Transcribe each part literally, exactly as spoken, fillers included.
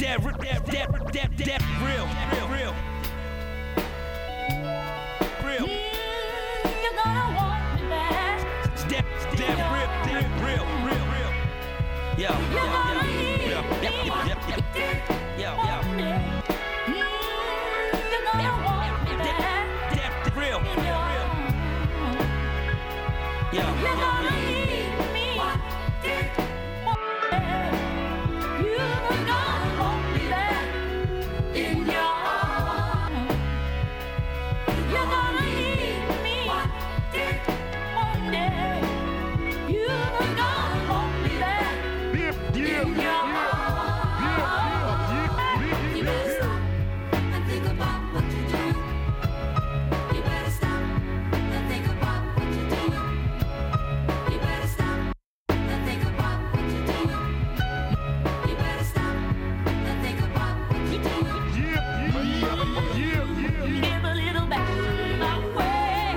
that, that, that, that, that, real, real, real. Real. Mm, you're gonna want me back. That, that, real, real, real, real, real. Yo, yo, yo, yo, yo, yo, yo, yo, yo. Mm, you're gonna want me back. That, real, real, real. Yo, You're yo, gonna yo. need me. You're gonna want me back in your arms. You're gonna need me one day. You're gonna want me back in your arms. You better stop and think about what you're doing. You better stop and think about what you're doing. You better stop and think about what you're doing. You better stop and think about what you're doing. Give a little back my way.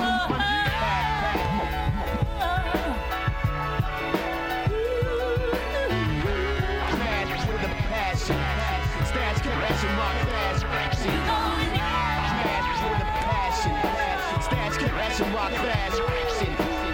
Smash with a passion. Smash caressing my fast action. Smash with a passion. Smash caressing my fast action.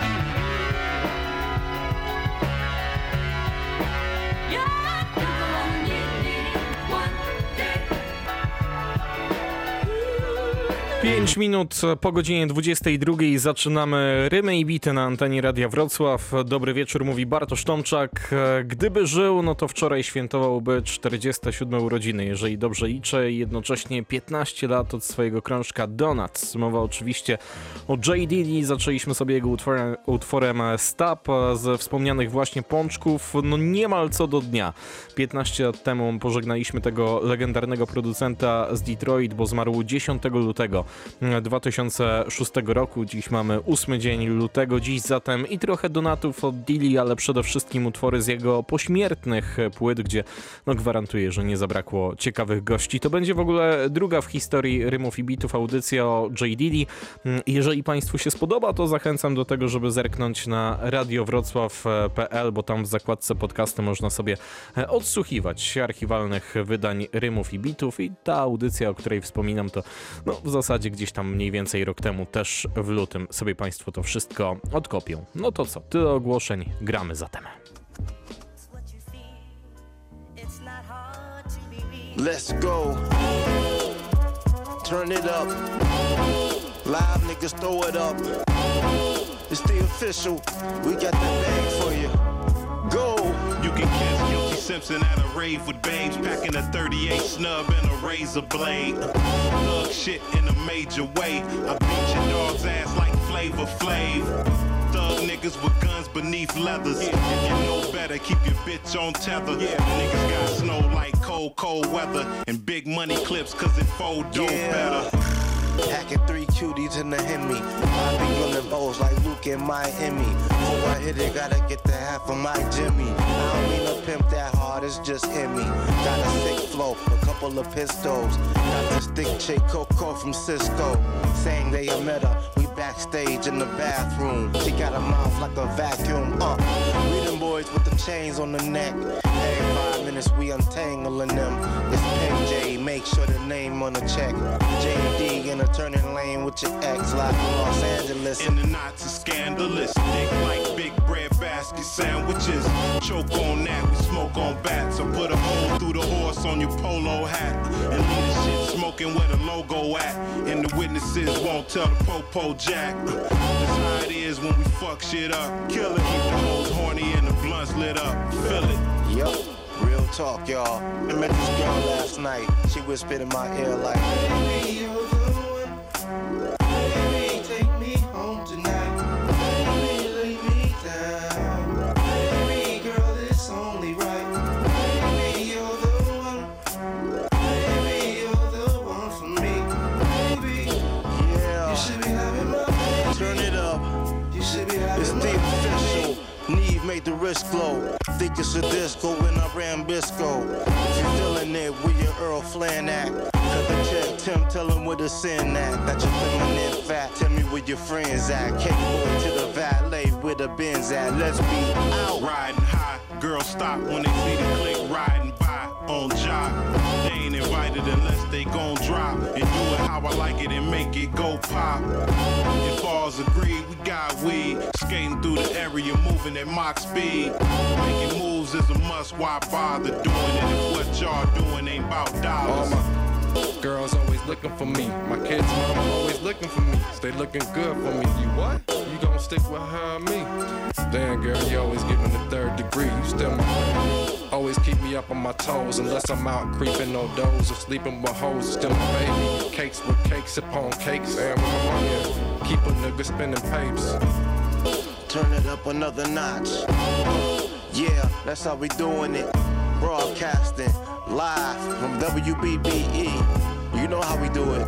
pięć minut po godzinie dwudziestej drugiej zaczynamy Rymy i Bity na antenie Radia Wrocław. Dobry wieczór, mówi Bartosz Tomczak. Gdyby żył, no to wczoraj świętowałby czterdzieste siódme urodziny, jeżeli dobrze liczę, i jednocześnie piętnaście lat od swojego krążka Donuts. Mowa oczywiście o J. Diddy. Zaczęliśmy sobie jego utworem, utworem Stop ze wspomnianych właśnie pączków. No niemal co do dnia. piętnaście lat temu pożegnaliśmy tego legendarnego producenta z Detroit, bo zmarł dziesiątego lutego dwa tysiące szóstego roku. Dziś mamy ósmy dzień lutego. Dziś zatem i trochę donatów od Diddy, ale przede wszystkim utwory z jego pośmiertnych płyt, gdzie no gwarantuję, że nie zabrakło ciekawych gości. To będzie w ogóle druga w historii Rymów i Bitów audycja o J. Diddy. Jeżeli Państwu się spodoba, to zachęcam do tego, żeby zerknąć na radio wrocław kropka p l, bo tam w zakładce podcasty można sobie odsłuchiwać archiwalnych wydań Rymów i Bitów, i ta audycja, o której wspominam, to no w zasadzie gdzieś tam mniej więcej rok temu, też w lutym, sobie Państwo to wszystko odkopią. No to co, tyle ogłoszeń, gramy zatem. Let's go. Turn it up. Live niggas throw it up. It's the official. We got the bag for you. Go. You can catch Guilty Simpson at a rave with babes, packing a thirty-eight snub and a razor blade. Thug shit in a major way. I beat your dog's ass like Flavor Flav. Thug niggas with guns beneath leathers. If you know better, keep your bitch on tether. Yeah. Niggas got snow like cold, cold weather. And big money clips cause it fold dope Yeah. better. Hacking three cuties in the Hemi. I be running balls like Luke in Miami. Before I hit it, gotta get the half of my Jimmy. I don't mean to pimp that hard, it's just in me. Got a sick flow, a couple of pistols. Got this thick chick Coco from Cisco. Saying they a met her, we backstage in the bathroom. She got a mouth like a vacuum. Uh, we them boys with the chains on the neck. Every five minutes we untangling them. It's P J, make sure the name on the check. J D in a turning lane with your ex, like in Los Angeles. And the knots are scandalous. Thick like big bread basket sandwiches. Choke on that, we smoke on bats. I put a hole through the horse on your polo hat. And leave the shit smoking where the logo at. And the witnesses won't tell the Popo Jack. That's how it is when we fuck shit up. Kill it, keep the hoes horny and the blunts lit up. Feel it. Yo, real talk, y'all. I met this girl last night. She whispered in my ear like, baby, you're the one. Baby, take me home tonight. Baby, lay me down. Baby, girl, it's only right. Baby, you're the one. Baby, you're the one for me. Baby, yeah. You should be having my baby. Turn it up. You should be having it's my the official. Neve made the wrist glow. Think it's a disco when I ran Bisco. If you feeling it with your Earl Flan act. Cut the check, Tim, tell him where the sin at. Got your feminine fat, tell me where your friends at. Cake boy to the valet, where the Benz at. Let's be out. Riding high, girls stop when they see the click riding by. On job, with it unless they gon' drop. And do it how I like it and make it go pop. If all's agreed, we got weed. Skating through the area, moving at Mach speed. Making moves is a must, why bother doing it if what y'all doing ain't about dollars? All my girls always looking for me. My kids' mama always looking for me. Stay looking good for me. You what? You gon' stick with her or me? Damn girl, you always giving the third degree. You still my baby. Always keep me up on my toes. Unless I'm out creeping no doors or sleeping with hoes. Still my baby. Cakes with cakes upon cakes. And with my money at? Keep a nigga spending papers. Turn it up another notch. Yeah, that's how we doing it. Broadcasting live from W B B E. You know how we do it.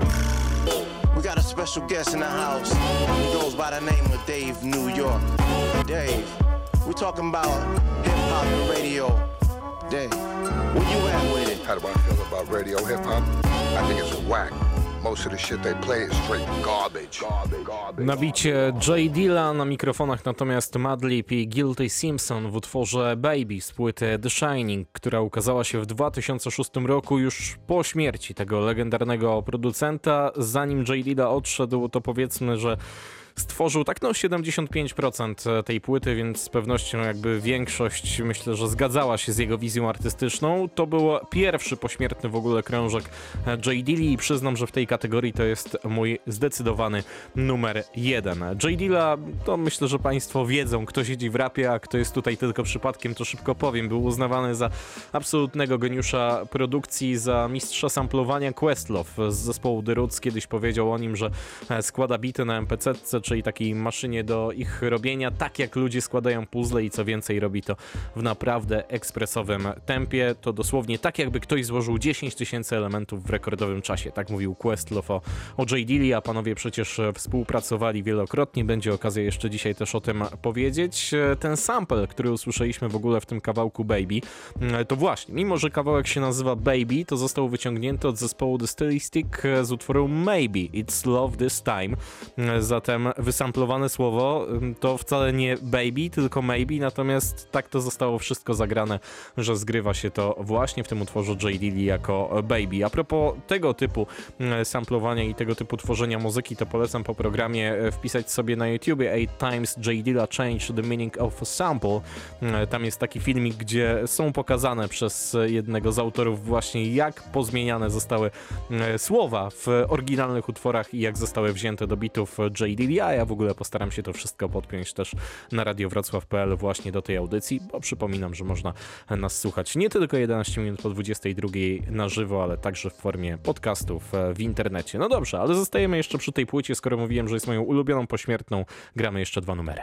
We got a special guest in the house. He goes by the name of Dave New York. Dave, we talking about hip-hop and radio. Dave, where you at with it? How do I feel about radio hip-hop? I think it's whack. Most of the shit they play is straight garbage. Garbage, garbage. Na bicie J Dilla, na mikrofonach natomiast Madlib i Guilty Simpson w utworze Baby z płyty The Shining, która ukazała się w dwa tysiące szóstym roku, już po śmierci tego legendarnego producenta. Zanim J Dilla odszedł, to powiedzmy, że stworzył tak no siedemdziesiąt pięć procent tej płyty, więc z pewnością jakby większość, myślę, że zgadzała się z jego wizją artystyczną. To był pierwszy pośmiertny w ogóle krążek J Dilla i przyznam, że w tej kategorii to jest mój zdecydowany numer jeden. J Dilla, to myślę, że państwo wiedzą, kto siedzi w rapie, a kto jest tutaj tylko przypadkiem, to szybko powiem. Był uznawany za absolutnego geniusza produkcji, za mistrza samplowania. Questlove z zespołu The Roots kiedyś powiedział o nim, że składa bity na em pe ce, czyli takiej maszynie do ich robienia, tak jak ludzie składają puzzle i co więcej robi to w naprawdę ekspresowym tempie. To dosłownie tak, jakby ktoś złożył dziesięć tysięcy elementów w rekordowym czasie. Tak mówił Questlove o, o J Dilla, a panowie przecież współpracowali wielokrotnie. Będzie okazja jeszcze dzisiaj też o tym powiedzieć. Ten sample, który usłyszeliśmy w ogóle w tym kawałku Baby, to właśnie, mimo że kawałek się nazywa Baby, to został wyciągnięty od zespołu The Stylistic z utworu Maybe It's Love This Time. Zatem wysamplowane słowo to wcale nie baby, tylko maybe, natomiast tak to zostało wszystko zagrane, że zgrywa się to właśnie w tym utworze J Dilla jako baby. A propos tego typu samplowania i tego typu tworzenia muzyki, to polecam po programie wpisać sobie na YouTubie Eight Times J Dilla Changed the Meaning of a Sample. Tam jest taki filmik, gdzie są pokazane przez jednego z autorów właśnie, jak pozmieniane zostały słowa w oryginalnych utworach i jak zostały wzięte do bitów J Dilla. Ja w ogóle postaram się to wszystko podpiąć też na radio wrocław kropka pe el właśnie do tej audycji, bo przypominam, że można nas słuchać nie tylko jedenaście minut po dwudziestej drugiej na żywo, ale także w formie podcastów w internecie. No dobrze, ale zostajemy jeszcze przy tej płycie, skoro mówiłem, że jest moją ulubioną pośmiertną, gramy jeszcze dwa numery.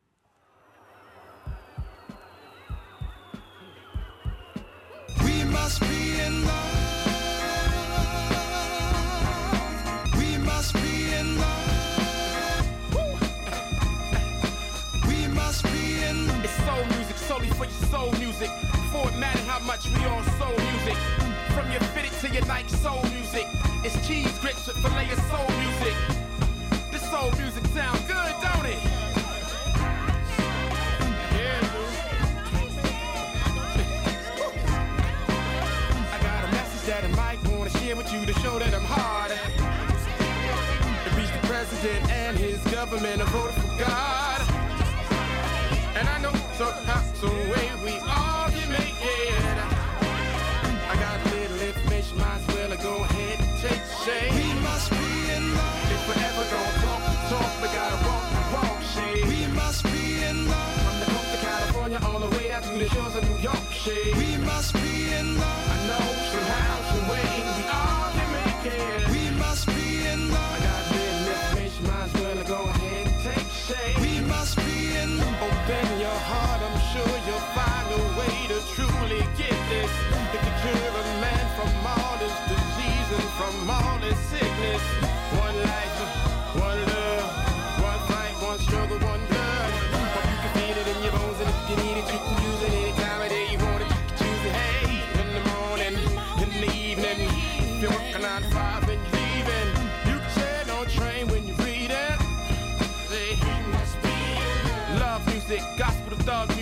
We must be in love. We must be in love. It's soul music, solely for your soul music. Before it mattered how much we all soul music. From your fitted to your Nike soul music. It's cheese grits with filet of soul music. This soul music sound good, don't it? Yeah, dude. I got a message that I might want to share with you to show that I'm hard. To reach the president and his government, I voted for God. And I know somehow, some way we all can make it. I got a little information, might as well go ahead and take shade. We must be in love. If we're ever gonna talk the talk, we gotta walk the walk, shade. We must be in love. From the coast of California all the way out to the shores of New York, shade. We must be in love. I know somehow, some way we all can make it. We must be in love. I got a little information, might as well go ahead and take shade. We must be in love. Open your heart, I'm sure you'll find a way to truly get this. It can cure a man from all his disease and from all his sickness. One life, one love, one fight, one struggle, one blood. But you can feel it in your bones, and if you need it, you can use it any time of day you want it. You can choose it, hey, in the morning, in the evening. If you're working nine to five and you're leaving, you can share no train when you read it. Say, he must be love music, gospel to thug music,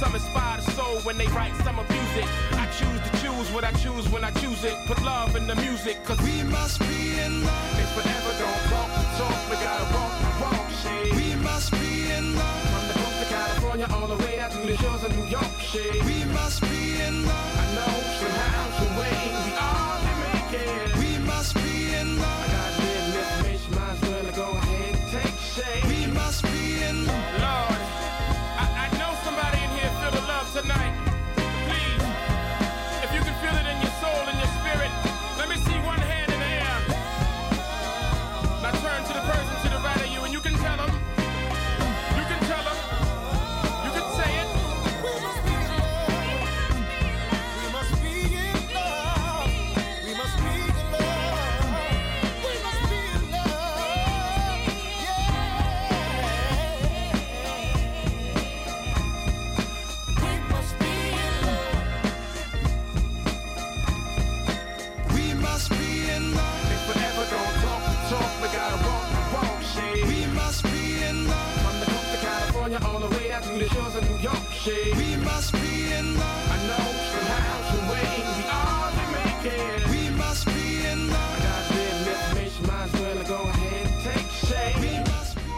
Some inspire the soul when they write, some abuse it. I choose to choose what I choose when I choose it. Put love in the music, cause we must be in love. If forever don't talk the talk, we gotta walk the walk, shit. We must be in love. From the coast of California all the way out to the shores of New York, shit. We must be in love. I know somehow, some way, we all can make it. We must be in love. I gotta live this bitch, might as well go ahead and take shade. We must be in love. Lord, I, I know somebody in here feel the love tonight. Please, if you can feel it in your soul and your spirit, let me see one hand in the air. Now turn to the person to the right of you and you can tell them. You can tell them. You can say it. We must be in love. We must be in love. We must be in love. We must be in love. Yeah. We must be in love. We must be in love. If forever don't talk the talk, we gotta walk the walk, shit. We must be in love. From the coast of California all the way out to the shores of New York, shit. We must be in love. I know somehow, some way, we all can make it. We must be in love. I gotta live this bitch, might as well go ahead and take shade. We must be.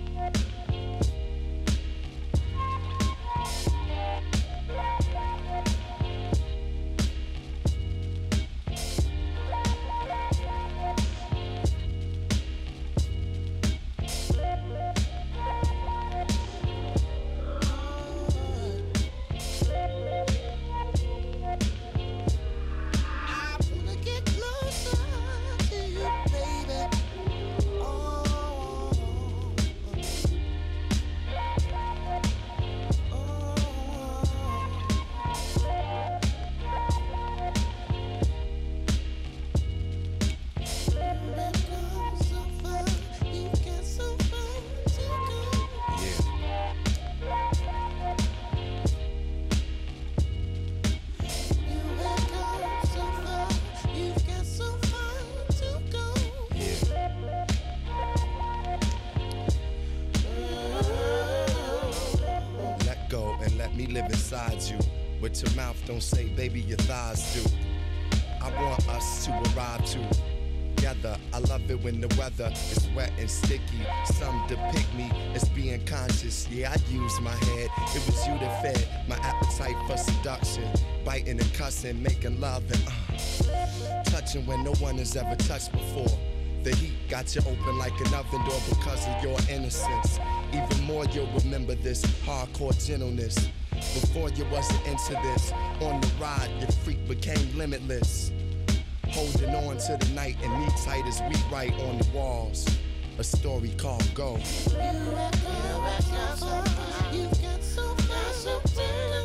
You, but your mouth don't say, baby, your thighs do. I want us to arrive together. I love it when the weather is wet and sticky. Some depict me as being conscious. Yeah, I use my head. It was you that fed my appetite for seduction. Biting and cussing, making love and uh, touching when no one has ever touched before. The heat got you open like an oven door because of your innocence. Even more, you'll remember this hardcore gentleness. Before you wasn't into this, on the ride, your freak became limitless. Holding on to the night and me tight as we write on the walls. A story called Go. You have got so far, you've got so far, so far.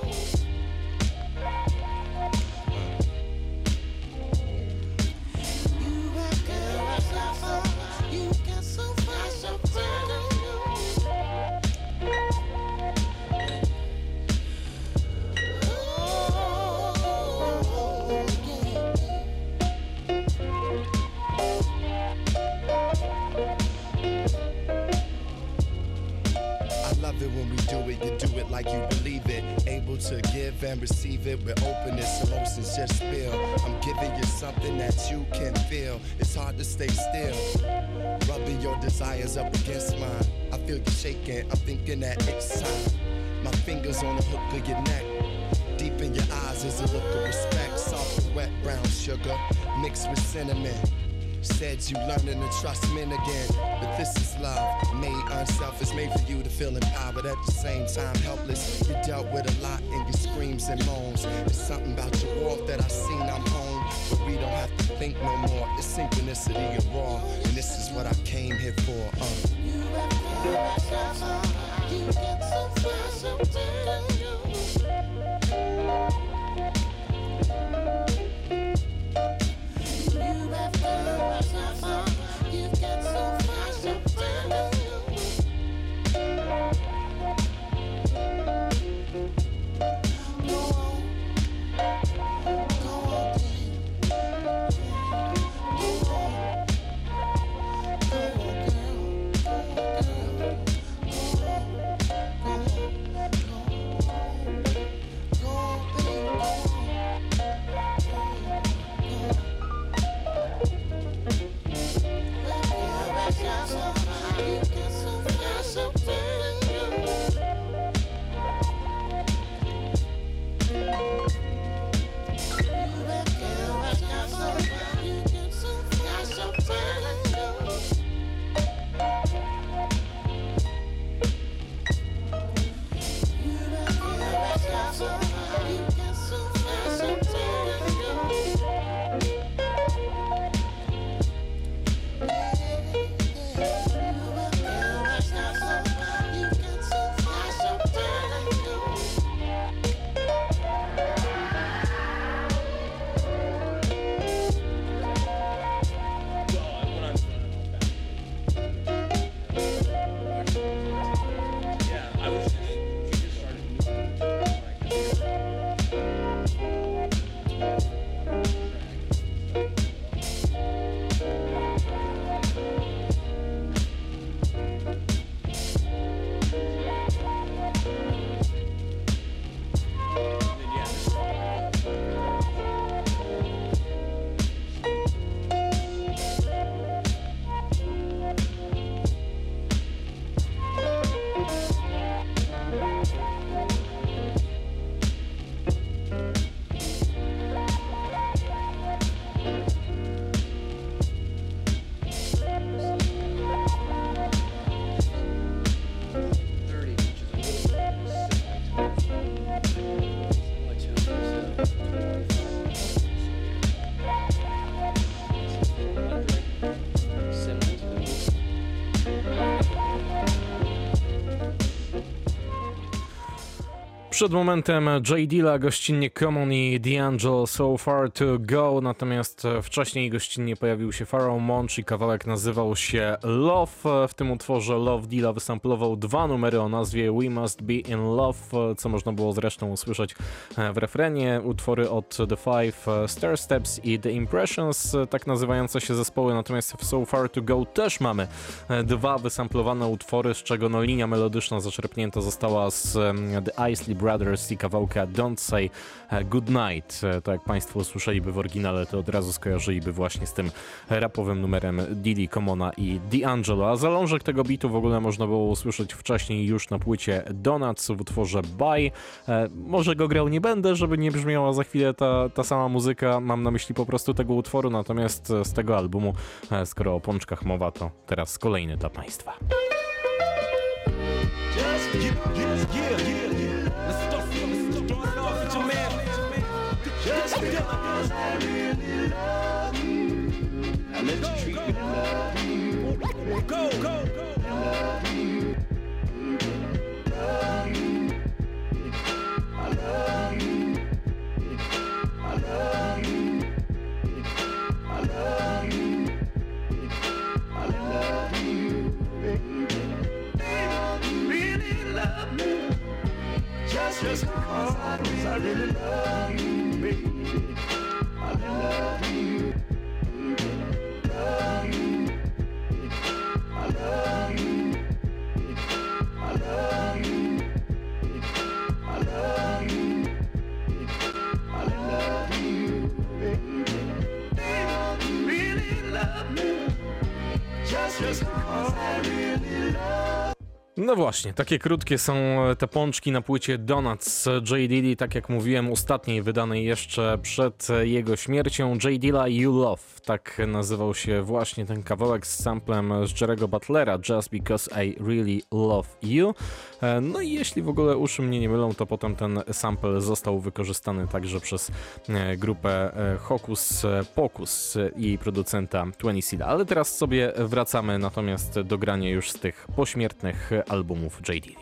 You have got so far, you've got so far, so far. When we do it, you do it like you believe it. Able to give and receive it with openness, emotions just spill. I'm giving you something that you can feel. It's hard to stay still. Rubbing your desires up against mine. I feel you shaking, I'm thinking that it's time. My fingers on the hook of your neck. Deep in your eyes is a look of respect. Soft, wet, brown sugar mixed with cinnamon. Said you learning to trust men again, but this is love, made unselfish, made for you to feel empowered at the same time helpless. You dealt with a lot in your screams and moans. There's something about your walk that I seen I'm home, but we don't have to think no more. It's synchronicity and raw, and this is what I came here for. Uh. You have so far, you get so far, so far. Przed momentem J. Dilla, gościnnie Common i D'Angelo So Far To Go, natomiast wcześniej gościnnie pojawił się Pharoah Monch i kawałek nazywał się Love. W tym utworze Love Dilla wysamplował dwa numery o nazwie We Must Be In Love, co można było zresztą usłyszeć w refrenie. Utwory od The Five, Stair Steps i The Impressions, tak nazywające się zespoły, natomiast w So Far To Go też mamy dwa wysamplowane utwory, z czego no linia melodyczna zaczerpnięta została z The Isley Brothers i kawałka Don't Say Goodnight. Tak jak Państwo usłyszeliby w oryginale, to od razu skojarzyliby właśnie z tym rapowym numerem Diddy, Commona i D'Angelo. A zalążek tego bitu w ogóle można było usłyszeć wcześniej już na płycie Donuts w utworze Bye. Może go grał nie będę, żeby nie brzmiała za chwilę ta, ta sama muzyka. Mam na myśli po prostu tego utworu, natomiast z tego albumu, skoro o pączkach mowa, to teraz kolejny dla Państwa. Yeah, yeah, yeah, yeah. Let's start, let's start off with your man. Just feel I really love you. I let you treat me love you. Go, go, go. Love you. Love you. I love you. I love you. I love you. I love you. Really love me. Just, just because I, I really love you, baby. I love you. Love you. I love you. I love you. I love you. I love you, baby. Really love me. Just, just because I really love. No właśnie, takie krótkie są te pączki na płycie Donuts J. Diddy, tak jak mówiłem, ostatniej wydanej jeszcze przed jego śmiercią. J. Dilla You Love, tak nazywał się właśnie ten kawałek z samplem z Jerry'ego Butlera, Just Because I Really Love You. No i jeśli w ogóle uszy mnie nie mylą, to potem ten sample został wykorzystany także przez grupę Hocus Pocus i producenta Twenty Seed. Ale teraz sobie wracamy natomiast do grania już z tych pośmiertnych albumów J. Diddy.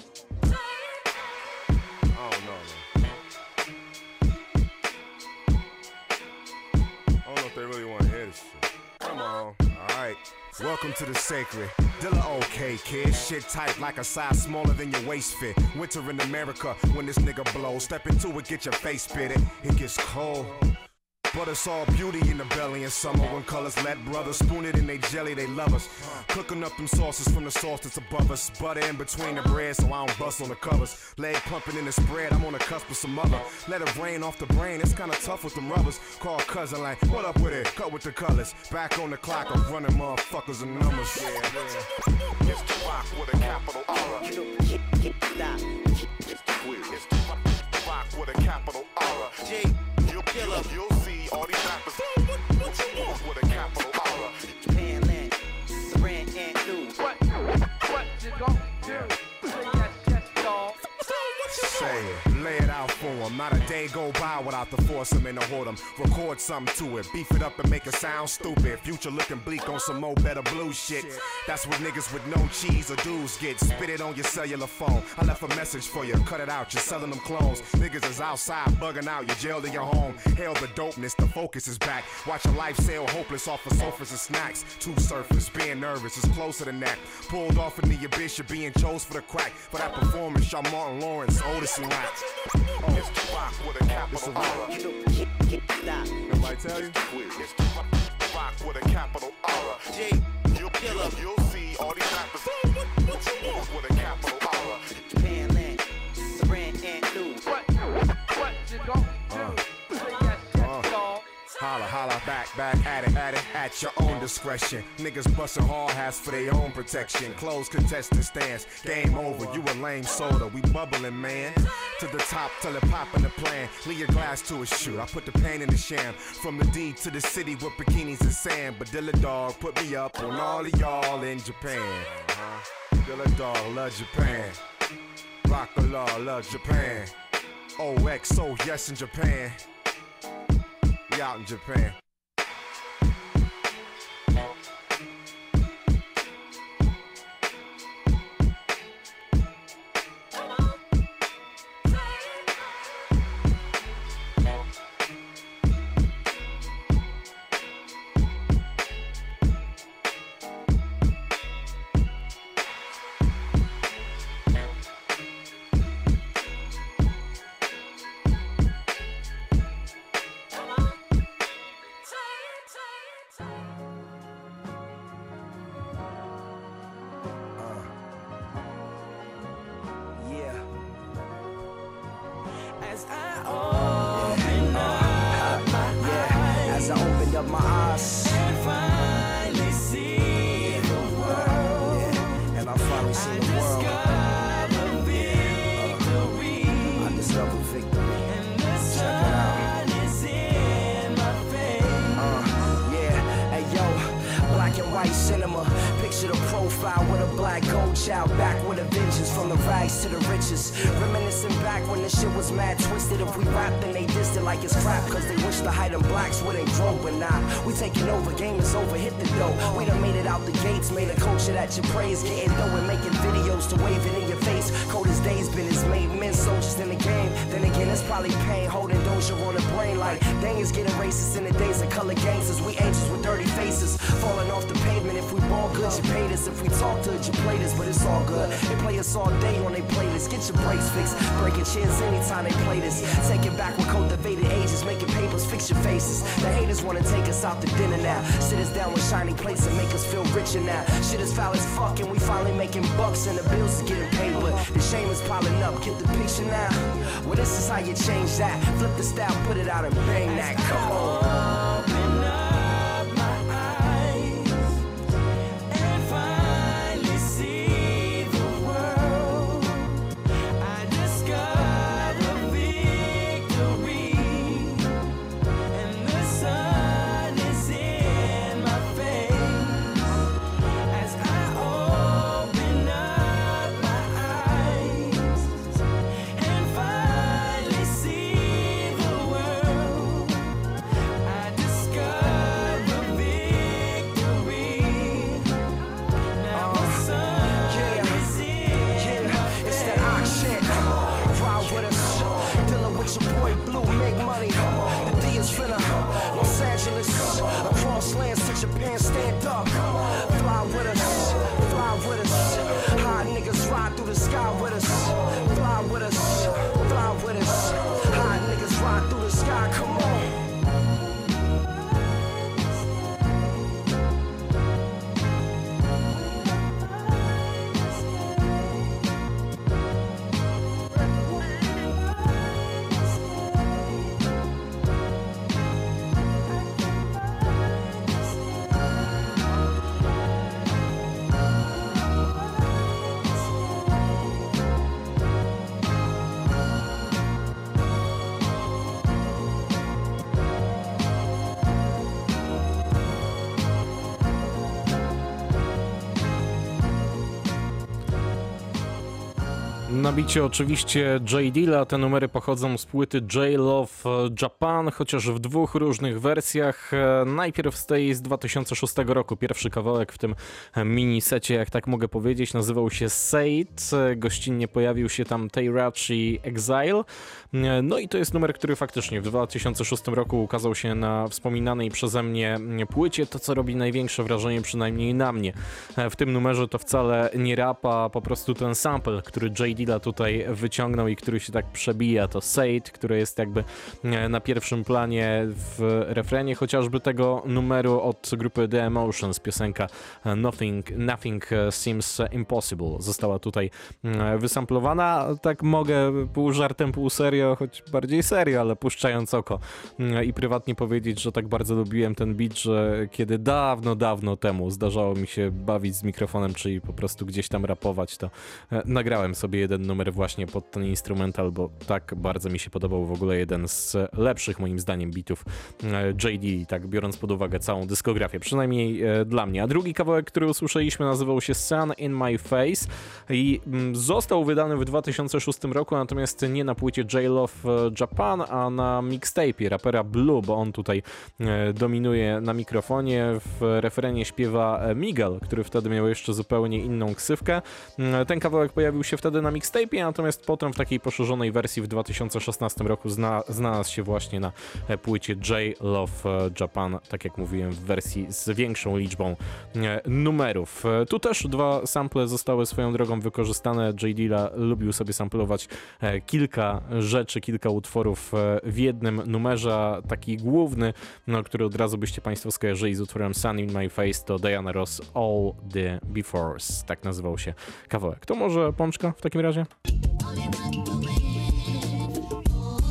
Welcome to the sacred. Dilla okay, kid. Shit tight like a size smaller than your waist fit. Winter in America when this nigga blows. Step into it, get your face pitted. It gets cold. But it's all beauty in the belly in summer when colors let brothers spoon it in they jelly, they love us. Cooking up them sauces from the sauce that's above us. Butter in between the bread so I don't bust on the covers. Leg pumping in the spread, I'm on the cusp of some other. Let it rain off the brain, it's kinda tough with them rubbers. Call cousin like, what up with it? Cut with the colors. Back on the clock, I'm running motherfuckers and numbers. Yeah, yeah. It's the rock with a capital R. It's the quiz. It's the rock with a capital R. G, you'll kill up, you'll see all these rappers with a capital R. Japan land, brand and new. What? What you gon' do? Say yes, yes, dog. Say it, lay it out for them. Not a day go by without the foursome and the whoredom. Record something to it, beef it up and make it sound stupid. Future looking bleak on some more better blue shit. That's what niggas with no cheese or dues get. Spit it on your cellular phone. I left a message for you, cut it out, you're selling them clones. Niggas is outside bugging out, you're jailed in your home. Hail the dopeness, the focus is back. Watch your life sail hopeless off of sofas and snacks. Two surfers, being nervous is closer than that. Pulled off in the abyss, you're being chose for the crack. For that performance, y'all Martin Lawrence, Otis and Rap. Oh, it's the rock with a capital R. Nobody tell you? It's the rock with a capital R. G, you'll kill up, you'll see all these rappers with a capital R. Japan land, brand and new. What? What you gon' do? Say yes, yes, dog. Holla, holla, back, back, at it, at it, at your own discretion. Niggas bustin' hard hats for their own protection. Close contestant stands, game over, you a lame soda, we bubbling, man. To the top, till it pop in the plan. Leave your glass to a shoe, I put the pain in the sham. From the D to the city with bikinis and sand. But Dilla Dog put me up on all of y'all in Japan. Uh-huh. Dilla Dog love Japan. Rock-a-law love Japan. O X O, yes in Japan. We out in Japan. As I open up my eyes, as I opened up my eyes and finally see the world, yeah. And I finally see the world. I discover victory. Uh, I discover victory. And the sun is in my face. Uh, yeah, hey yo, black and white cinema. Picture the profile with a black gold child, back with a vengeance, from the rags to the riches. Reminiscing back when the shit was mad twisted. If we rap, then they dissed it like it's crap, cause they wish the height of blacks wouldn't grow. But nah, we taking over, game is over, hit the dough. We done made it out the gates, made a culture that you praise. Getting dough and making videos to wave it in your face. Cold as days been as made men soldiers in the game. Then again, it's probably pain holding Doja on the brain. Like, dang, it's getting racist in the days of color gangsters. We angels with dirty faces, falling off the pavement. If we ball good, you paid us. If we talk to it, you played us, but it's all good. They play us all day on they playlist. Get your brakes fixed, breaking chairs anytime they play this. Taking back with cultivated ages, making papers, fix your faces. The haters wanna take us out to dinner now. Sit us down with shiny plates and make us feel richer now. Shit is foul as fuck and we finally making bucks and the bills is getting paid, but the shame is piling up. Get the picture now? Well, this is how you change that. Flip the style, put it out and bang that. Come on. Across lands to Japan, stand up. Fly with us, fly with us. High niggas ride through the sky with us. Fly with us, fly with us. High niggas ride through the sky, come on. Na bicie oczywiście J Dilla, te numery pochodzą z płyty J Love Japan, chociaż w dwóch różnych wersjach. Najpierw z tej z dwa tysiące szóstego roku, pierwszy kawałek w tym minisecie, jak tak mogę powiedzieć, nazywał się Say It, gościnnie pojawił się tam Teyrachi Exile. No i to jest numer, który faktycznie w dwa tysiące szóstym roku ukazał się na wspominanej przeze mnie płycie, to co robi największe wrażenie, przynajmniej na mnie. W tym numerze to wcale nie rap, a po prostu ten sample, który J Dilla tutaj wyciągnął i który się tak przebija, to Say It, które jest jakby na pierwszym planie w refrenie chociażby tego numeru od grupy The Emotions, piosenka Nothing, Nothing Seems Impossible została tutaj wysamplowana. Tak mogę pół żartem, pół serio, choć bardziej serio, ale puszczając oko i prywatnie powiedzieć, że tak bardzo lubiłem ten beat, że kiedy dawno, dawno temu zdarzało mi się bawić z mikrofonem, czyli po prostu gdzieś tam rapować, to nagrałem sobie jeden numer właśnie pod ten instrumental, bo tak bardzo mi się podobał, w ogóle jeden z lepszych moim zdaniem beatów J D, tak biorąc pod uwagę całą dyskografię, przynajmniej e, dla mnie. A drugi kawałek, który usłyszeliśmy, nazywał się Sun in My Face i mm, został wydany w dwa tysiące szóstym roku, natomiast nie na płycie J Love Japan, a na mixtape'ie rapera Blue, bo on tutaj e, dominuje na mikrofonie. W refrenie śpiewa Miguel, który wtedy miał jeszcze zupełnie inną ksywkę. Ten kawałek pojawił się wtedy na mixtape'ie, natomiast potem w takiej poszerzonej wersji w dwa tysiące szesnastym roku zna, znalazł się właśnie na płycie J Love Japan, tak jak mówiłem, w wersji z większą liczbą numerów. Tu też dwa sample zostały swoją drogą wykorzystane. J Dilla lubił sobie samplować kilka rzeczy, kilka utworów w jednym numerze. Taki główny, no, który od razu byście Państwo skojarzyli z utworem Sun in My Face, to Diana Ross All the Befores, tak nazywał się kawałek. To może Pączka w takim razie?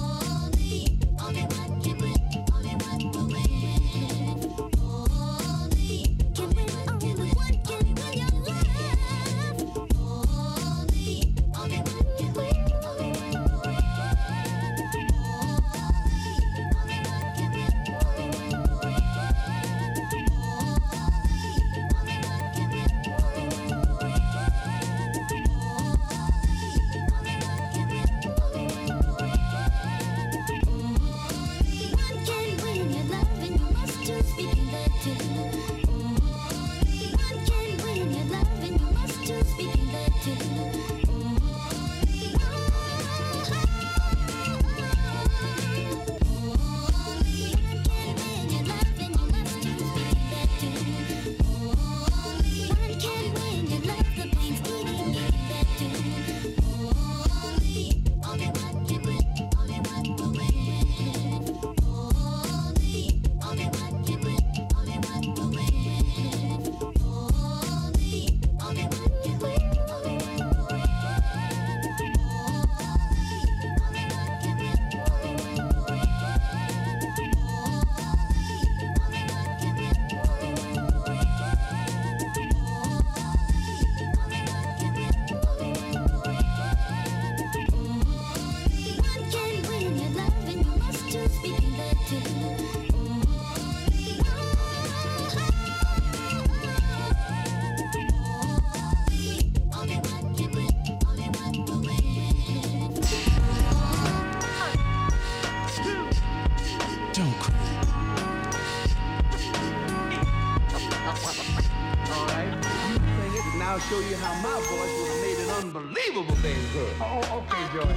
show you how my voice would have made an unbelievable baby girl. Oh, okay, Joy.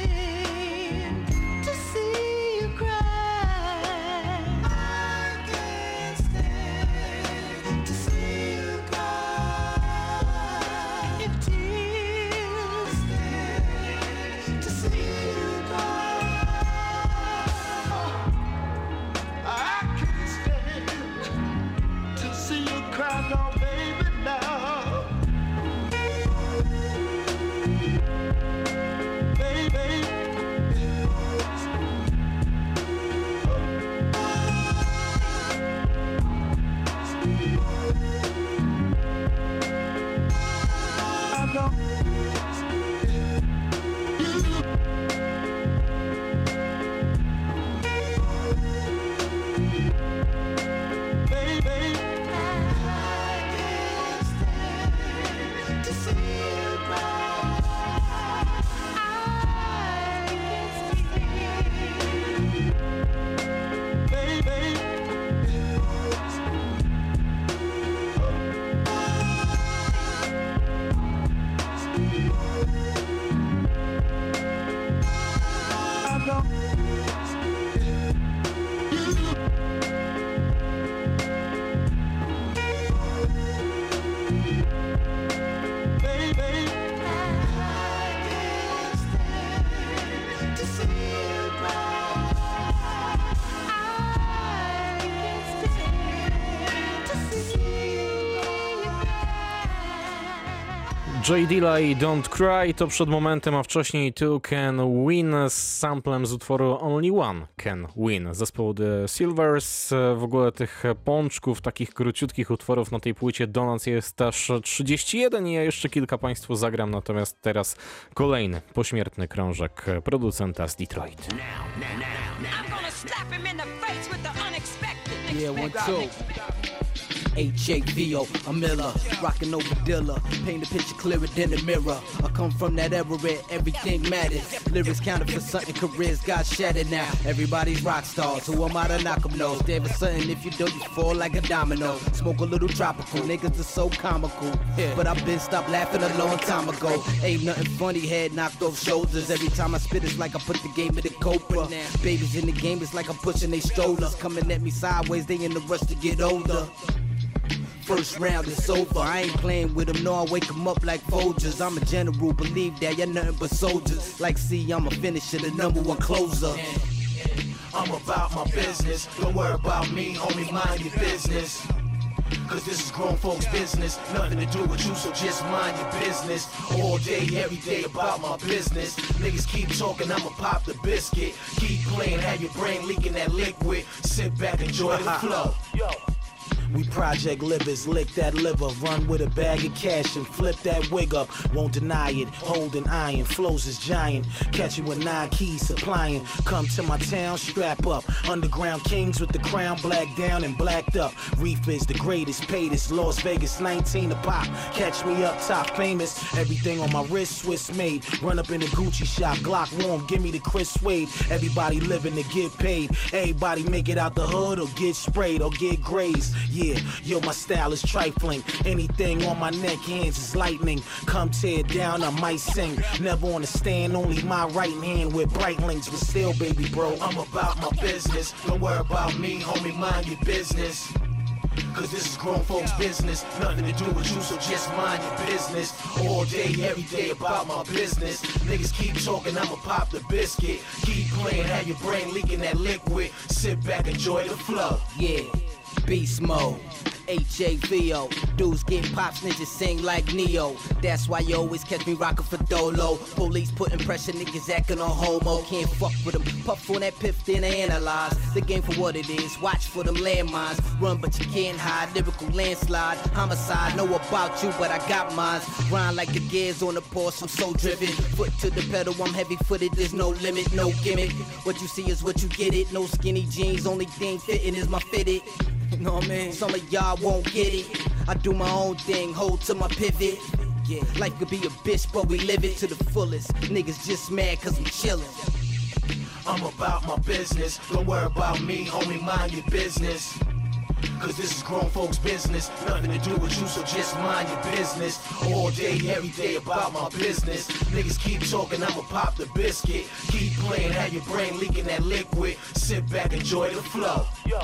To see you cry. I can't stand to see you cry. If tears stand to see you cry. I can't stand to see you cry, no, baby, now. J Dilla i Don't Cry to przed momentem, a wcześniej Two Can Win z samplem z utworu Only One Can Win zespołu The Silvers. W ogóle tych pączków, takich króciutkich utworów na tej płycie Donuts jest aż trzydzieści jeden i ja jeszcze kilka Państwu zagram, natomiast teraz kolejny pośmiertny krążek producenta z Detroit. Yeah, one, two. H A V O, I'm Miller, rockin' over Dilla, paint the picture clearer than the mirror. I come from that era where everything matters. Lyrics counted for something, careers got shattered now. Everybody's rock stars, who am I to knock 'em nose? There was something, if you don't, you fall like a domino. Smoke a little tropical, niggas are so comical. But I've been stopped laughing a long time ago. Ain't nothing funny, head knocked off shoulders. Every time I spit, it's like I put the game in the Cobra. Babies in the game, it's like I'm pushing they strollers. Coming at me sideways, they in the rush to get older. First round is over, I ain't playing with them, no, I wake them up like Folgers. I'm a general, believe that, you're nothing but soldiers. Like C, I'm a finisher, the number one closer. I'm about my business, don't worry about me, homie, mind your business. Cause this is grown folks' business, nothing to do with you, so just mind your business. All day, every day about my business. Niggas keep talking, I'ma pop the biscuit. Keep playing, have your brain leaking that liquid. Sit back, enjoy the flow. Yo. We project livers, lick that liver, run with a bag of cash and flip that wig up. Won't deny it, holding iron, flows is giant. Catch you with nine keys supplying. Come to my town, strap up. Underground kings with the crown blacked down and blacked up. Reef is the greatest, paid is Las Vegas, nineteen a pop. Catch me up top, famous. Everything on my wrist, Swiss made. Run up in the Gucci shop, Glock warm, give me the Chris Wade. Everybody living to get paid. Everybody make it out the hood or get sprayed or get grazed. Yeah, yo, my style is trifling. Anything on my neck, hands is lightning. Come tear down, I might sing. Never on the stand, only my right hand with bright links. But still, baby bro, I'm about my business. Don't worry about me, homie, mind your business. Cause this is grown folks' business. Nothing to do with you, so just mind your business. All day, every day about my business. Niggas keep talking, I'ma pop the biscuit. Keep playing, have your brain leaking that liquid. Sit back, enjoy the flow. Yeah, beast mode. H A V O, dudes get pop, snitches sing like Neo. That's why you always catch me rockin' for Dolo. Police putting pressure, niggas acting on homo. Can't fuck with them, puff on that piff, then analyze the game for what it is. Watch for them landmines, run but you can't hide. Lyrical landslide, homicide, know about you but I got mines. Grind like the gears on the Porsche, I'm so driven. Foot to the pedal, I'm heavy footed, there's no limit, no gimmick. What you see is what you get it, no skinny jeans, only thing fitting is my fitted. You know what I mean? Some of y'all won't get it. I do my own thing, hold to my pivot. Yeah, life could be a bitch, but we live it to the fullest. Niggas just mad cause we chillin'. I'm about my business. Don't worry about me, homie, mind your business. Cause this is grown folks' business. Nothing to do with you, so just mind your business. All day, every day about my business. Niggas keep talking, I'ma pop the biscuit. Keep playing, have your brain leaking that liquid. Sit back, enjoy the flow. Yo.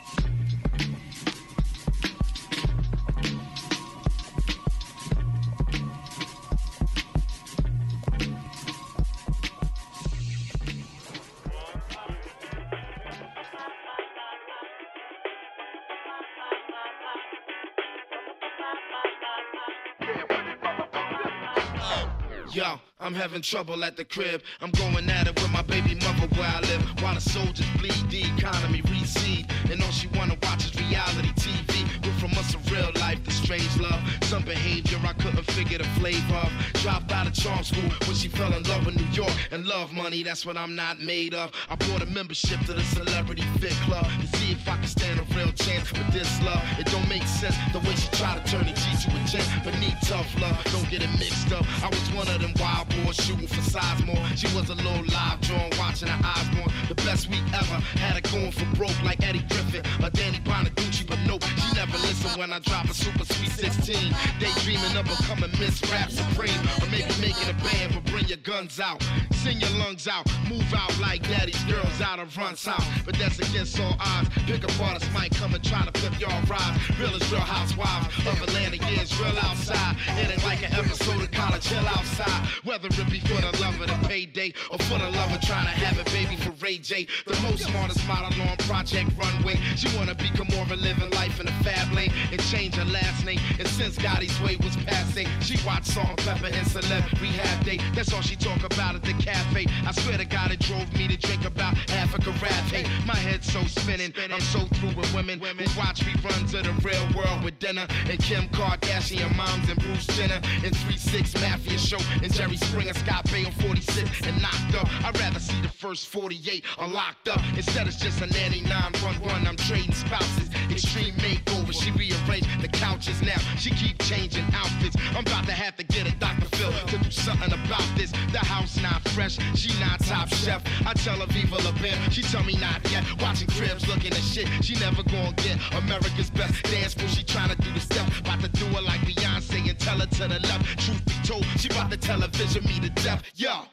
Yo, I'm having trouble at the crib. I'm going at it with my baby mother where I live. While the soldiers bleed, the economy recede. And all she wanna watch is reality T V. We're from us a real life, the strange love. Some behavior I couldn't figure the flavor of. Dropped out of charm school when she fell in love with New York. And love money, that's what I'm not made of. I bought a membership to the Celebrity Fit Club to see if I can stand a real chance with this love. It don't make sense the way she tried to turn a G to a gent, but need tough love, don't get it mixed up. I was one of them wild boys shooting for Sizemore. She was a little live drawn, watching her eyes more. The best week ever, had her going for broke like Eddie Griffin or Danny Bonaducci, but nope, she never listened when I drop a super sweet sixteen. Daydreaming of becoming Miss Rap Supreme, or maybe making a band, but bring your guns out, sing your lungs out, move out like daddy's girls out of Run's house. But that's against all odds. Pick up artists might come and try to flip y'all rides. Real is real housewives of Atlanta, yeah, it's real outside. It ain't like an episode of College Hill outside. Whether it be for the love of the payday or for the love of trying to have a baby for Ray J. The most smartest model on Project Runway. She wanna be Gamora, living life in a fab lane and change her last name. And since Gotti's way was passing, she watched Salt and Pepper and Celeb Rehab Day. That's all she talk about at the cafe. I swear to God, it drove me to drink about half a carafe. My head's so spinning, I'm so through with women who watch reruns of the real world with dinner and Kim Kardashian moms and Bruce Jenner and three six Mafia show and Jerry Springer, Scott Baio forty-six and knocked up. I'd rather see the first forty-eight unlocked up. Instead it's just a nanny nine one one. I'm trading spouses, extreme makeover. She rearranged the couches now. She keep changing outfits. I'm about to have to get a Doctor Phil to do something about this. The house not fresh, she not top chef. I tell her Viva La Bam, she tell me not yet. Watching cribs, looking at shit. She never gonna get America's best dance move. She trying to do the step, about to do it like Beyonce and tell her to the left. Truth be told, she about to television me to death. Yo.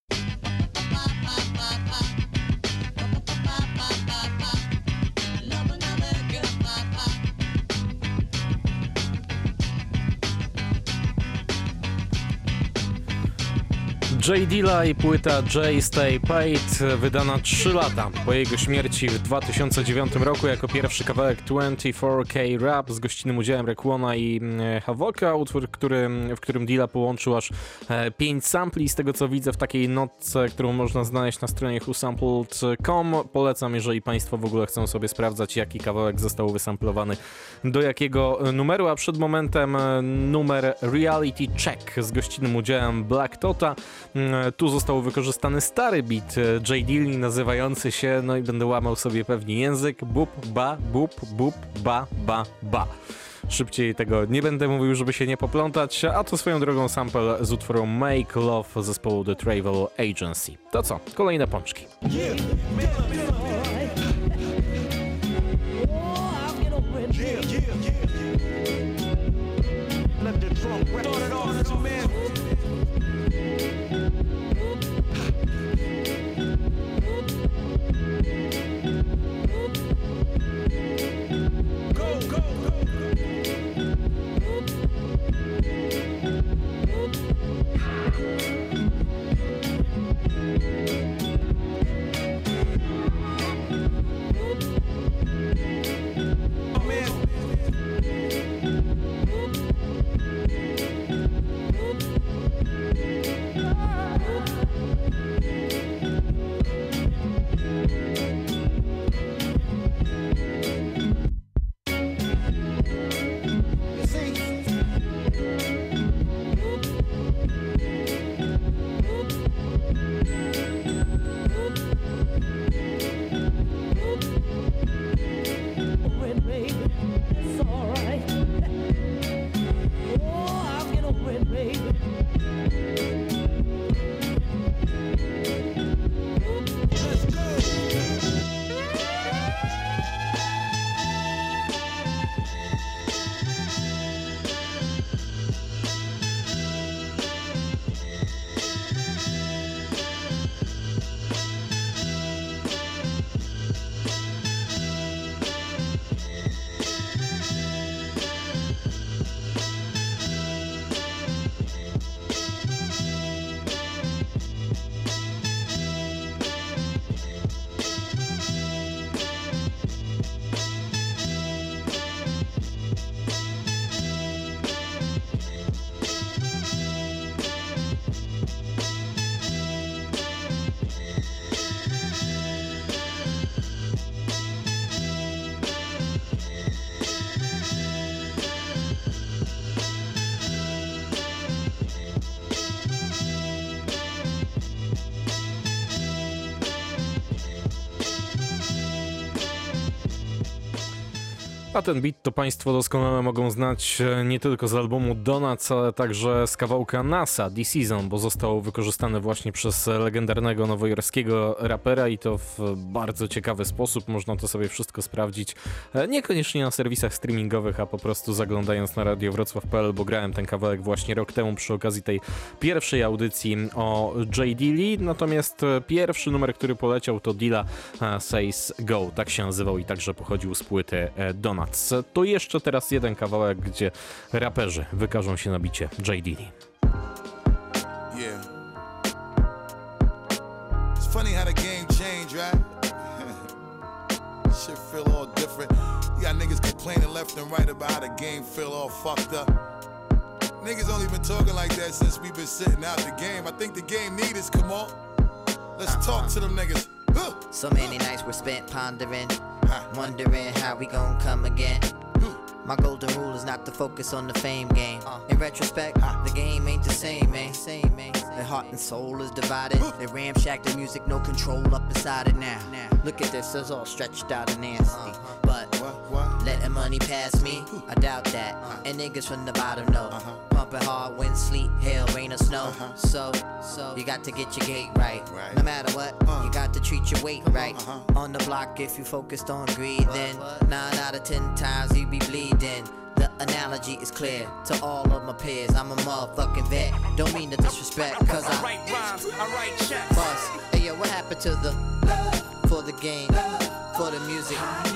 J Dilla i płyta J Stay Paid, wydana trzy lata po jego śmierci w dwa tysiące dziewiątym roku jako pierwszy kawałek dwadzieścia cztery K Rap z gościnnym udziałem Raekwona i Havoca, utwór, który, w którym Dilla połączył aż pięć sampli, z tego co widzę w takiej notce, którą można znaleźć na stronie who sampled kropka com. Polecam, jeżeli Państwo w ogóle chcą sobie sprawdzać, jaki kawałek został wysamplowany do jakiego numeru, a przed momentem numer Reality Check z gościnnym udziałem Black Tota. Tu został wykorzystany stary beat J Dilli nazywający się, no i będę łamał sobie pewnie język, bup, ba, bup, bup, ba, ba, ba. Szybciej tego nie będę mówił, żeby się nie poplątać, a to swoją drogą sample z utworu Make Love zespołu The Travel Agency. To co? Kolejne pączki. Yeah, yeah, yeah. Let the drum start it off, man. Go, go, go. A ten beat to Państwo doskonale mogą znać nie tylko z albumu Donuts, ale także z kawałka NASA, The Season, bo został wykorzystany właśnie przez legendarnego nowojorskiego rapera i to w bardzo ciekawy sposób. Można to sobie wszystko sprawdzić, niekoniecznie na serwisach streamingowych, a po prostu zaglądając na radio wrocław kropka p l, bo grałem ten kawałek właśnie rok temu przy okazji tej pierwszej audycji o J. Dilli. Natomiast pierwszy numer, który poleciał, to Dilla Says Go, tak się nazywał i także pochodził z płyty Donuts. To jeszcze teraz jeden kawałek, gdzie raperzy wykażą się na bicie J. Dilli. Yeah. It's funny how the game changed, right? Shit feel all different. You got niggas complaining left and right about how the game feel all fucked up. Niggas only been talking like that since we been sitting out the game. I think the game need us, come on. Let's uh-huh. talk to them niggas. Huh. So many nights were spent pondering, wondering how we gon' come again. My golden rule is not to focus on the fame game. In retrospect, the game ain't the same, man. Their heart and soul is divided. They ramshack the music, no control up inside it now. Look at this, it's all stretched out and nasty. But letting money pass me, I doubt that. And niggas from the bottom know. Pumping hard, wind, sleet, hail, rain or snow. So, so you got to get your gate right. No matter what, you got to treat your weight right. On the block, if you focused on greed, then nine out of ten times you be bleeding. The analogy is clear to all of my peers. I'm a motherfucking vet. Don't mean to disrespect, cause I write rhymes, I write checks. Boss, hey yo, what happened to the for the game, for the music?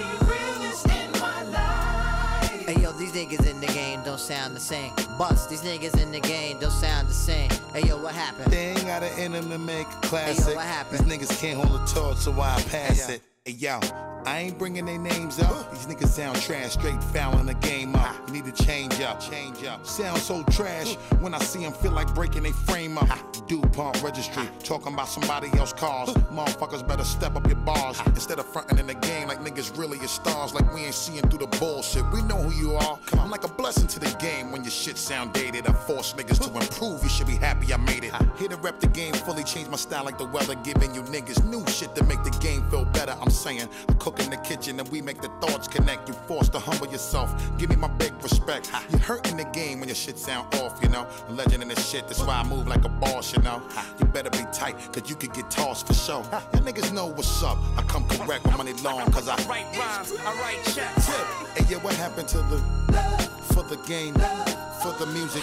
Hey yo, these niggas in the game don't sound the same. Bust, these niggas in the game don't sound the same. Hey yo, what happened? They ain't got it in them to make a classic. Hey yo, what happened? These niggas can't hold a torch, so I pass hey, it. Hey yo, I ain't bringing their names up. These niggas sound trash, straight fouling the game up. You need to change up, change up. Sound so trash, when I see them feel like breaking their frame up. DuPont registry, talking about somebody else's cars. Motherfuckers better step up your bars. Instead of fronting in the game like niggas really is stars. Like we ain't seeing through the bullshit. We know who you are. I'm like a blessing to the game when your shit sound dated. I force niggas to improve, you should be happy I made it. Here to rep the game fully, change my style like the weather. Giving you niggas new shit to make the game feel better. I'm saying, I cook in the kitchen and we make the thoughts connect. You forced to humble yourself, give me my big respect. You hurting the game when your shit sound off, you know. A legend in this shit, that's why I move like a boss, you know. You better be tight, cause you could get tossed for sure. Y'all niggas know what's up, I come correct with money long, cause I write rhymes, I write checks. Hey yeah, what happened to the, for the game, for the music?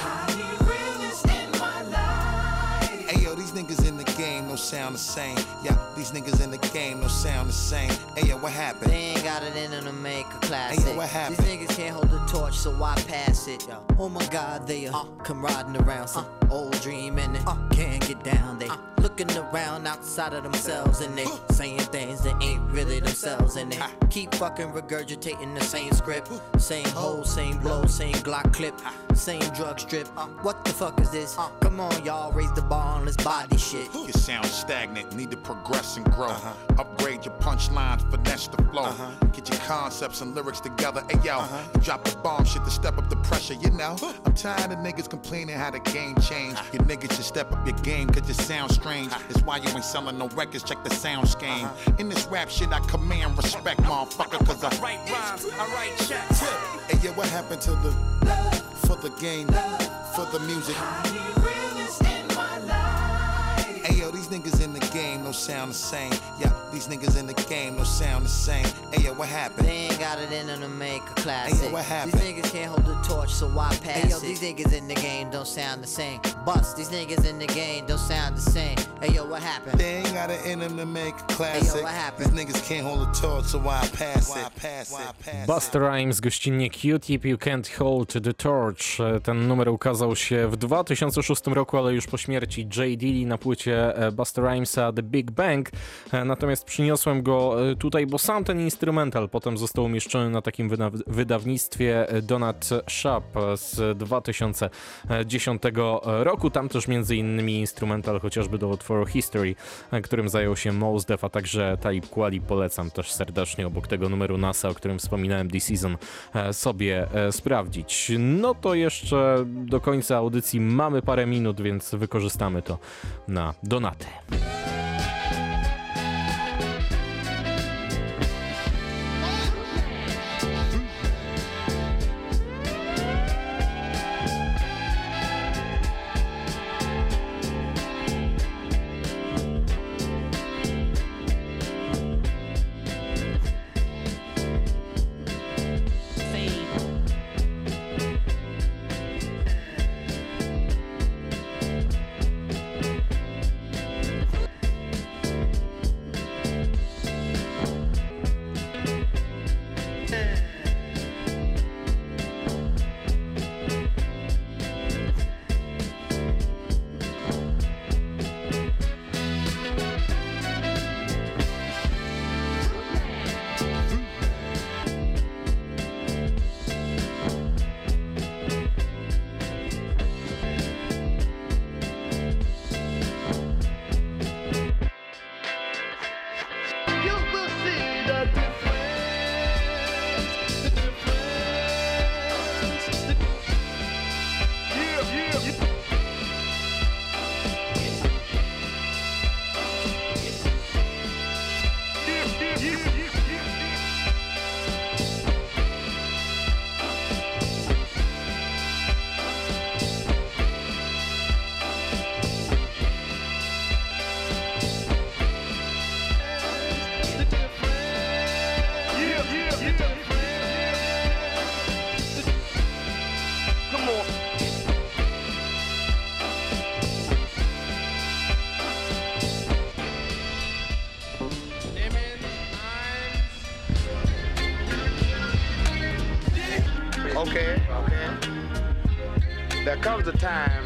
Hey yo, these niggas in the game don't sound the same. Yeah, these niggas in the game don't sound the same. Hey yo, what happened? They ain't got it in them to make a classic. Hey yo, what happened? These niggas can't hold the torch, so why pass it? Yo. Oh my God, they uh, come riding around some uh, old dream and they uh, can't get down. They uh, looking around outside of themselves and they uh, saying things that ain't really themselves. And they uh, keep fucking regurgitating the same script, same hole, same blow, same Glock clip, same drug strip. Uh, what the fuck is this? Uh, Come on, y'all, raise the bar on this body shit. You sound stagnant, need to progress and grow. Uh-huh. Upgrade your punchlines, finesse the flow. Uh-huh. Get your concepts and lyrics together. Hey yo, uh-huh. you drop the bomb shit to step up the pressure, you know. I'm tired of niggas complaining how the game changed. Uh-huh. You niggas should step up your game cause you sound strange. Uh-huh. That's why you ain't selling no records, check the sound scheme. Uh-huh. In this rap shit I command respect, motherfucker, cause I write rhymes, I write checks. Hey yeah, what happened to the, for the game, for the music? Hey yo, these niggas in the game don't sound the same. Yeah, these niggas in the game don't sound the same. Hey yo, what happened? They ain't got it in them to make a classic. Hey yo, what happened? These niggas can't hold the torch, so why pass hey, yo, it? These niggas in the game don't sound the same. Bust, these niggas in the game don't sound the same. Hey yo, what happened? They ain't got it in them to make a classic. Hey yo, what happened? These niggas can't hold the torch, so why pass it? Why pass it? Busta Rhymes, gościnnie Q-Tip, You Can't Hold the Torch. Ten numer ukazał się w dwa tysiące szóstym roku, ale już po śmierci J. Dilli na płycie Busta Rhymesa The Big Bang. Natomiast przyniosłem go tutaj, bo sam ten instrumental potem został umieszczony na takim wyda- wydawnictwie Donut Shop z dwa tysiące dziesiątego roku. Tam też między innymi instrumental chociażby do utworu History, którym zajął się Mos Def, a także Talib Kweli. Polecam też serdecznie obok tego numeru NASA, o którym wspominałem, The Season, sobie sprawdzić. No to jeszcze do końca audycji mamy parę minut, więc wykorzystamy to na donaty. Okay, okay. There comes a time.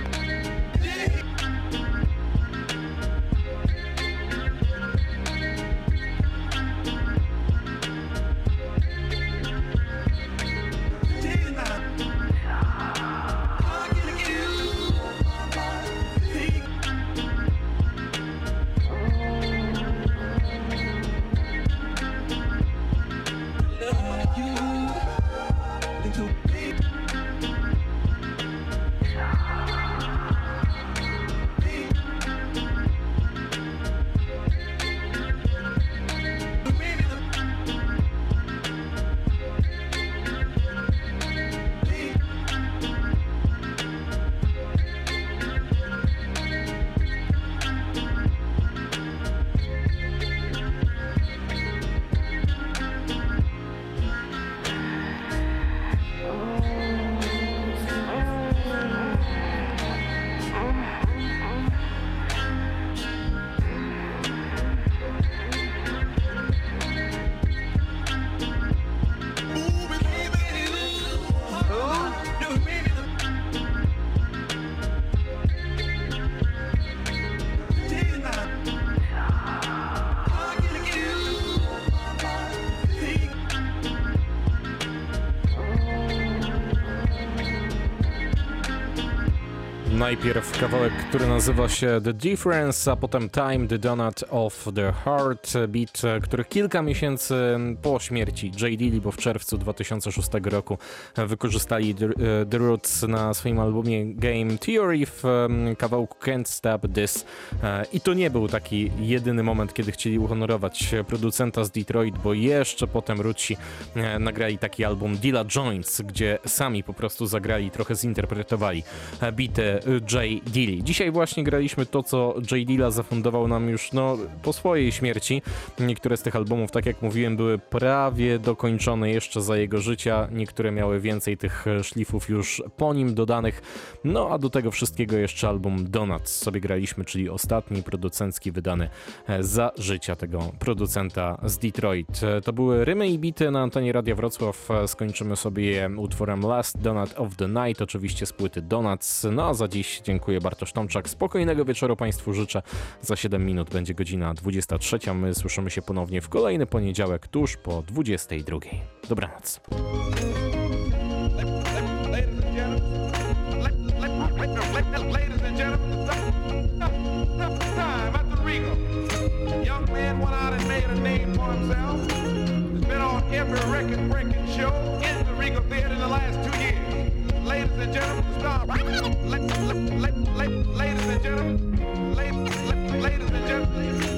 Najpierw kawałek, który nazywa się The Difference, a potem Time, The Donut of the Heart, beat, który kilka miesięcy po śmierci J. Dilla, bo w czerwcu dwa tysiące szóstego roku wykorzystali The, The Roots na swoim albumie Game Theory w kawałku Can't Stop This. I to nie był taki jedyny moment, kiedy chcieli uhonorować producenta z Detroit, bo jeszcze potem Rootsi nagrali taki album Dilla Joints, gdzie sami po prostu zagrali, trochę zinterpretowali bity J. Dilla. Dzisiaj właśnie graliśmy to, co J. Dilla zafundował nam już no, po swojej śmierci. Niektóre z tych albumów, tak jak mówiłem, były prawie dokończone jeszcze za jego życia. Niektóre miały więcej tych szlifów już po nim dodanych. No a do tego wszystkiego jeszcze album Donuts sobie graliśmy, czyli ostatni producencki wydany za życia tego producenta z Detroit. To były rymy i bity na antenie Radia Wrocław. Skończymy sobie utworem Last Donut of the Night, oczywiście z płyty Donuts. No a za dziś dziękuję, Bartosz Tomczak. Spokojnego wieczoru Państwu życzę. Za siedem minut będzie godzina dwudziesta trzecia. My słyszymy się ponownie w kolejny poniedziałek tuż po dwudziestej drugiej. Dobranoc. Ladies and gentlemen, stop. Ladies and gentlemen, ladies and gentlemen, ladies and gentlemen.